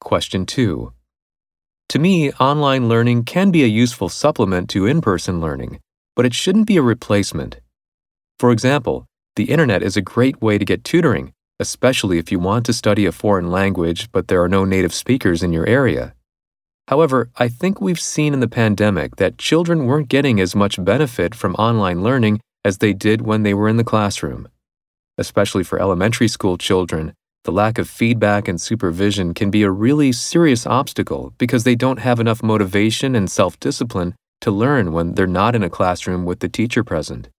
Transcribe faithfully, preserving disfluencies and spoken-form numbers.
Question two. To me, online learning can be a useful supplement to in-person learning, but it shouldn't be a replacement. For example, the internet is a great way to get tutoring, especially if you want to study a foreign language but there are no native speakers in your area. However, I think we've seen in the pandemic that children weren't getting as much benefit from online learning as they did when they were in the classroom. Especially for elementary school children, the lack of feedback and supervision can be a really serious obstacle because they don't have enough motivation and self-discipline to learn when they're not in a classroom with the teacher present.